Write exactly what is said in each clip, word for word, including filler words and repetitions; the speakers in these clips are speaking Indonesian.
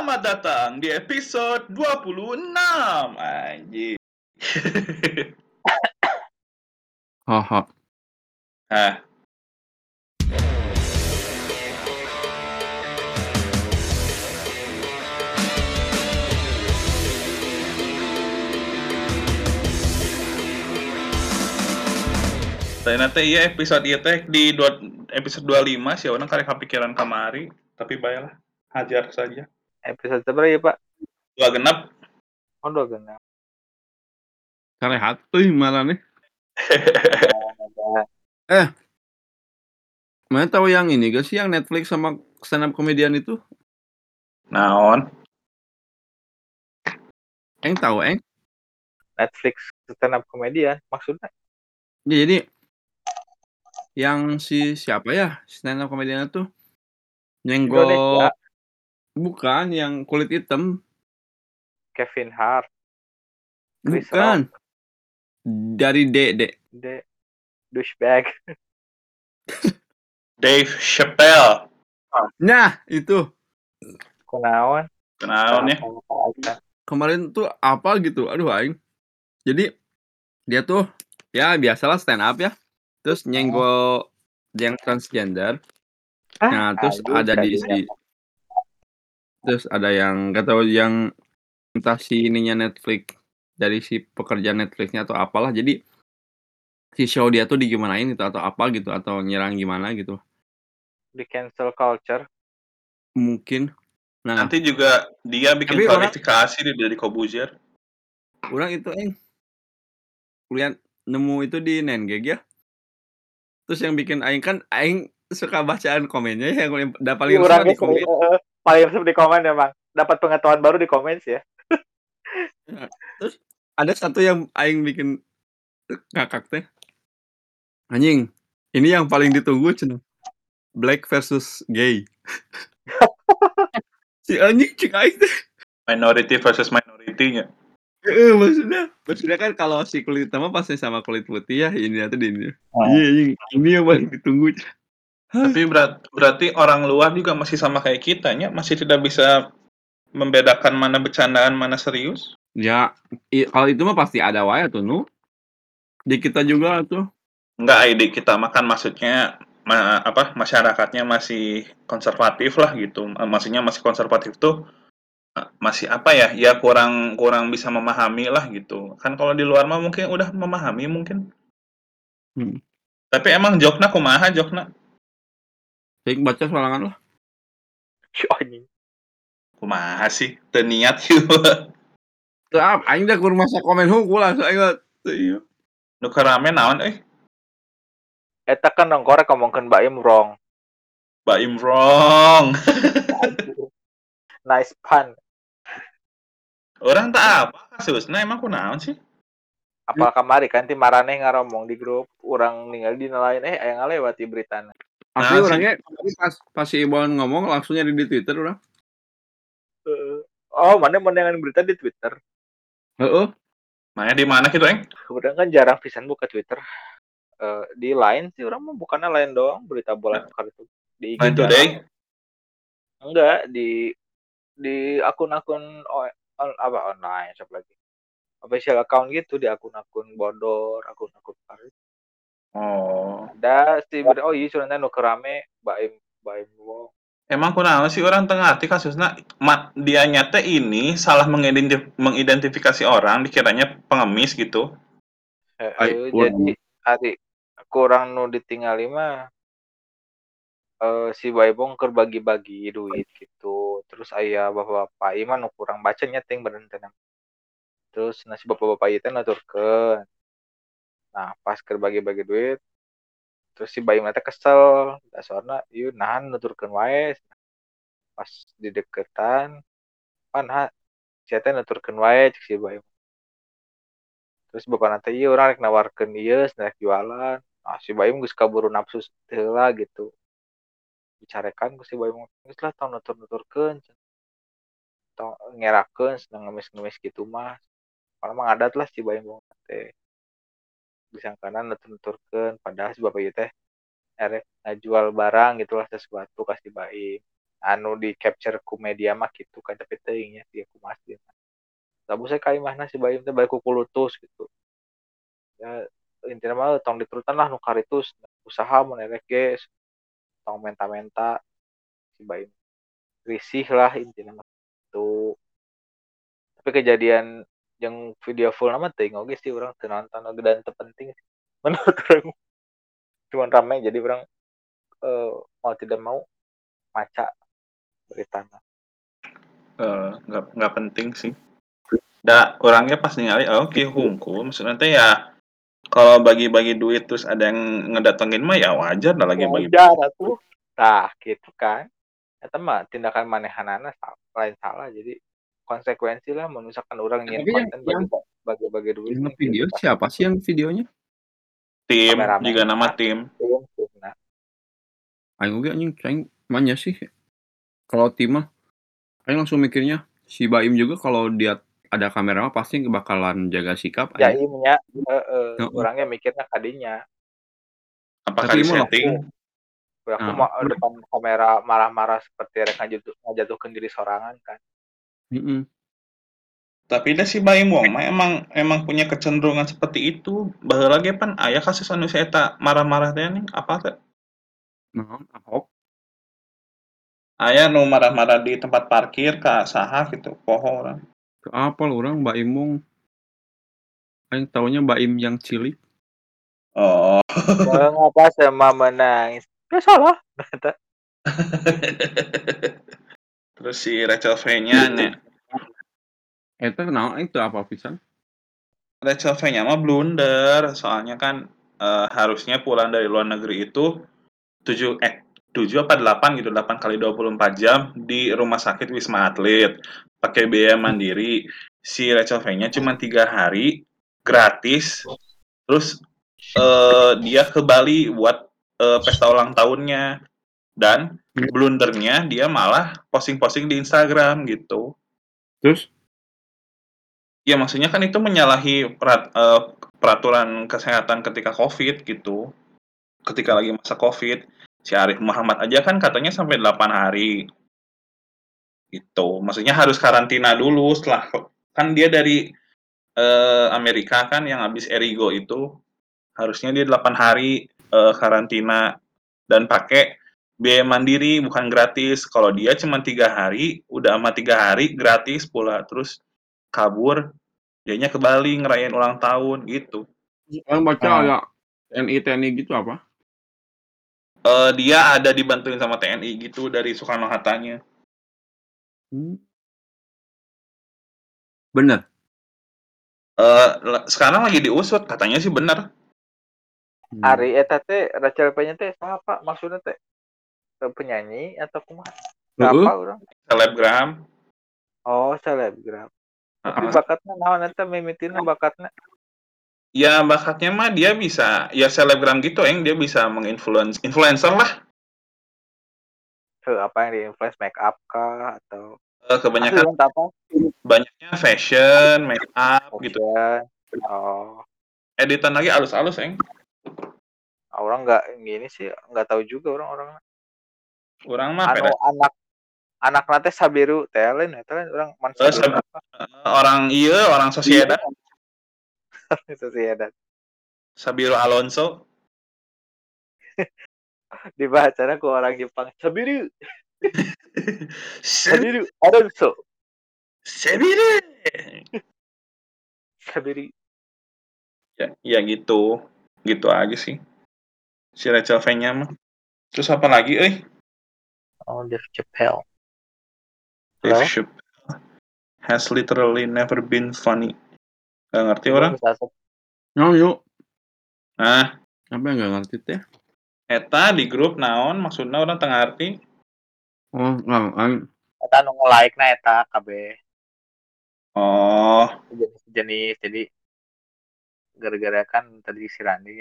Selamat datang di episode dua puluh enam. Anjir. Haha. Nah, ternyata iya episode iya teh di dua, episode dua puluh lima sih orang kali kepikiran kamari, tapi baiklah, hajar saja. Episode seberapa ya Pak? Dua genap. Oh dua genap. Karehat euy malah nih. Eh. Mana tahu yang ini gak sih yang Netflix sama stand up comedian itu? Naon? Eng tahu eng? Netflix stand up comedian maksudnya? Ya, jadi yang si siapa ya stand up comedian itu nyenggol Indonesia. bukan yang kulit hitam. Kevin Hart. Chris Bukan. Rock. Dari D D. The douchebag. Dave Chappelle. Nah, itu. Kunaon? Naon ya? Kemarin tuh apa gitu. Aduh aing. Jadi dia tuh ya biasalah stand up ya. Terus nyenggol yang transgender. Ah, Nah, terus aduh, ada di jadinya. si terus ada yang nggak tahu yang entah si ininya Netflix dari si pekerja Netflixnya atau apalah. Jadi si show dia tuh digimanain gitu atau apa gitu atau nyerang gimana gitu. Di cancel culture. Mungkin. Nah, Nanti juga dia bikin tapi orang- klarifikasi di dari Kobuzier. orang itu eh kuliah nemu itu di Nengeg ya. Terus yang bikin aing kan aing suka bacaan komennya yang udah paling Iya, resep orangnya di komen. sering, uh, paling resep di komen emang. Dapat pengetahuan baru di komen sih ya. Nah, terus ada satu yang aing bikin ngakak teh. Anjing, ini yang paling ditunggu cenah. Black versus gay. Si anjing cek aing teh. Minority versus minority-nya. Heeh, maksudnya, maksudnya kan kalau si kulit hitam pasti sama kulit putih ya, ini atau di ini. Oh. Iya, anjing, ini yang paling ditunggu. Tapi berat, berarti orang luar juga masih sama kayak kita nya, masih tidak bisa membedakan mana bercandaan mana serius. Ya, i, kalau itu mah pasti ada wae tuh, nu. Di kita juga tuh. Enggak, ide kita makan maksudnya ma, apa masyarakatnya masih konservatif lah gitu. Maksudnya masih konservatif tuh masih apa ya? Ya kurang kurang bisa memahami lah gitu. Kan kalau di luar mah mungkin udah memahami mungkin. Hmm. Tapi emang jokna kumaha jokna? Baik baca soalangan lah. Anjing. Kumaha sih? Teu niat gitu. Tuh, ah, aing dah kur masa komen hungkul langsung aing teu ieu. Nu karame naon euy? Eta kan nongkorek ngomongkeun Baim wrong. Baim wrong. Nice pun. Orang tak apa kasusna emang kunaon sih? Apal kamari kan ti maraneh ngaromong di grup urang ningali dina lain eh aya ngalewati beritana. Asli Nah, orangnya pas pas si Ibon ngomong langsung nyari di Twitter orang. Uh, oh, mana mendengar berita di Twitter? Heeh. Mana di mana gitu, Eng? Kemudian kan jarang pisan buka Twitter. Uh, di Line sih orang mah bukannya Line doang berita bola tukar itu. Di I G Line jarang. Today? Enggak, di di akun-akun on, on, apa online siapa lagi? Official account gitu di akun-akun bodor, akun-akun karet. Oh. Ada si oh iya sebenarnya nu kerame Baim Baim Wong. Emang kunaon sih orang tengah hati kasusnya dia nyata ini salah mengidentif- mengidentifikasi orang dikiranya pengemis gitu. Eh, Ay, eh, wah. jadi hari kurang nu ditinggali mah eh, si Baibong keur bagi-bagi duit gitu. Terus aya bapak-bapak ieu mah nu kurang baca nyeting bener teh. Terus nasi bapak-bapak ieu teh nuturkeun. Nah, pas keur bagi-bagi duit terus si Baim teh kesel, dasarna ieu nahan nuturkeun wae. Pas di deketan pan si teh nuturkeun wae cek si Baim. Terus bapak nanti iya orang rek nawarkeun ieu rek jualan. Ah si Baim geus kaburu nafsu heula gitu. Bicarekan ku si Baim geus lah tong nutur-nuturkeun. Tong ngerakeun seneng ngemis-ngemis gitu mah. Kalau mah ngadat lah si Baim teh. Disangkana nutur-nuturkeun padahal si bapak ieu teh erek ngajual barang gitulah sesuatu ka si Baim. anu di capture ku media mah gitu kan tapi teuing nya dia kumaha sih. Sabu saya ka imahna si Baim teh balik ku kulutus gitu. Ya intina mah tong diturutan lah nu karitus usaha mun erek ge tong menta-menta si Baim. Risih lah intina mah gitu. Tapi kejadian yang video full nama teuing oge sih urang teu nonton dan terpenting sih. Menurut urang cuman ramai jadi orang eh, mau tidak mau maca beritanya. Eh, nggak nggak penting sih. Da orangnya pas ningali oh, oke hungkul maksudnya teh ya kalau bagi-bagi duit terus ada yang ngedatengin mah ya wajar lah lagi bagi. Wajar tuh. Nah, gitu kan. Eta mah tindakan manehanana lain salah jadi konsekuensi lah misalkan orang nyin Tapi yang konten yang bagi bagi bagi duit yang nih video gitu pasti siapa sih yang videonya? Tim kameramen juga nama tim. tim tim nah Aing oge anjing aing manya sih kalau tim mah aing langsung mikirnya si Baim juga kalau dia ada kamera mah pasti bakalan jaga sikap aya. jaimnya eh, eh, Heeh. orangnya mikirnya kadinya Apakah Tapi di mau setting? aku Heeh, mau bener. depan kamera marah-marah seperti rek ngajatuh ngajatuhkeun diri sorangan kan. Mhm. Tapi dah si Baim Wong mah emang emang punya kecenderungan seperti itu. Baheula ge pan aya kasus anu si eta marah-marah teh nih apa teh? Naon Ahok? Aya nu marah-marah di tempat parkir ka saha gitu, poho urang. Teu apal urang Baim Wong. Aing taunya Baim yang cilik. Oh. Mengapa sama menangis? Ya salah. Terus si Rachel V-nya nya Eta naon aing teu apal pisan. Rachel V-nya mah blunder soalnya kan eh, harusnya pulang dari luar negeri itu tujuh eh tujuh apa delapan gitu, delapan kali dua puluh empat jam di rumah sakit Wisma Atlet pakai biaya mandiri. Si Rachel V-nya cuma tiga hari gratis. Terus eh, dia ke Bali buat eh, pesta ulang tahunnya dan blundernya dia malah posting-posting di Instagram gitu. Terus Ya maksudnya kan itu menyalahi perat, eh, peraturan kesehatan ketika COVID gitu. Ketika lagi masa COVID, si Arif Muhammad aja kan katanya sampai delapan hari. Gitu. Maksudnya harus karantina dulu setelah kan dia dari eh, Amerika kan yang habis Erigo itu harusnya dia delapan hari eh, karantina dan pakai biaya mandiri bukan gratis. Kalau dia cuma tiga hari, udah sama tiga hari gratis pula terus kabur. Dianya ke Bali ngerayain ulang tahun gitu. aing baca Hmm. ada T N I T N I gitu apa? Eh dia ada dibantuin sama T N I gitu dari Soekarno Hattanya. Hmm. Bener. Eh le- sekarang lagi diusut katanya sih benar. Hmm. Ari eta teh Rachel P-nya teh apa maksudnya teh penyanyi atau kumaha? Heeh. Apa orang? Selebgram. Oh, selebgram. Tapi Heeh. bakatnya naon eta mimitina bakatnya? Ya bakatnya mah dia bisa ya selebgram gitu eng dia bisa menginfluence influencer lah. Heuh, apa yang di-influence make up kah atau Eh, asli kebanyakan kan apa? banyaknya fashion, make up gitu. Fashion. Oh, Editan lagi alus-alus eng. orang nggak gini sih nggak tahu juga orang-orang Orang mah anu peres. anak anak nate Sabiru telen eta kan orang man Eh, Sabiru sab- apa orang iya orang Sociedad itu sih ada Sabiro Alonso. dibacanya ku orang Jepang Sabiru Se- Sabiru Alonso Sabiro. Sabiru Ya, ya gitu. Gitu aja sih. Si Rachel V-nya mah. Terus apa lagi euy? oh Dave Chappelle Dave Halo Chappelle has literally never been funny. Gak ngerti coba orang? bisa Naon yuk? Nah, Apa yang gak ngerti teh? eta di grup naon maksudna orang tengah arti. Oh, nggak, aing eta nu like na eta kabeh Oh, jenis-jenis jadi gara-gara kan tadi si Randi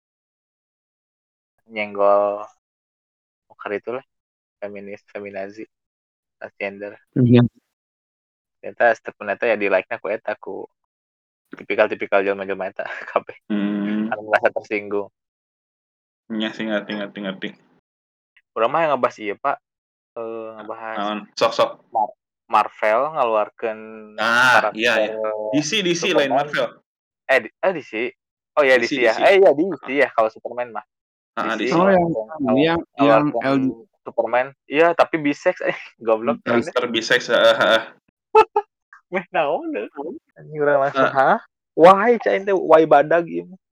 nyenggol mukar itu lah feminis feminazi transgender iya. ternyata statement eta ya di like na ku eta ku tipikal-tipikal jelma-jelma eta kabeh hmm, anu merasa tersinggung nya sih ngerti ngerti ngerti. urang mah yang ngebahas ieu Pak eh ngebahas Naon, sok-sok. Mar Marvel ngaluarkeun Ah, iya karakter ya. D C D C lain Superman. Marvel. Eh, di eh D C. Oh ya D D C C D ya. C. Eh iya D C Heeh. ya kalau Superman mah. Heeh, D D C C. Oh yang ngaluarkeun ini ngalu yang yang ngaluarkeun L G Superman. Iya, tapi bisex eh goblok keren deh. Mister Bisex, heeh heeh. Meh naon deh. Anjing urang langsung, Heeh. hah? Why cai teh why badag ieu mah.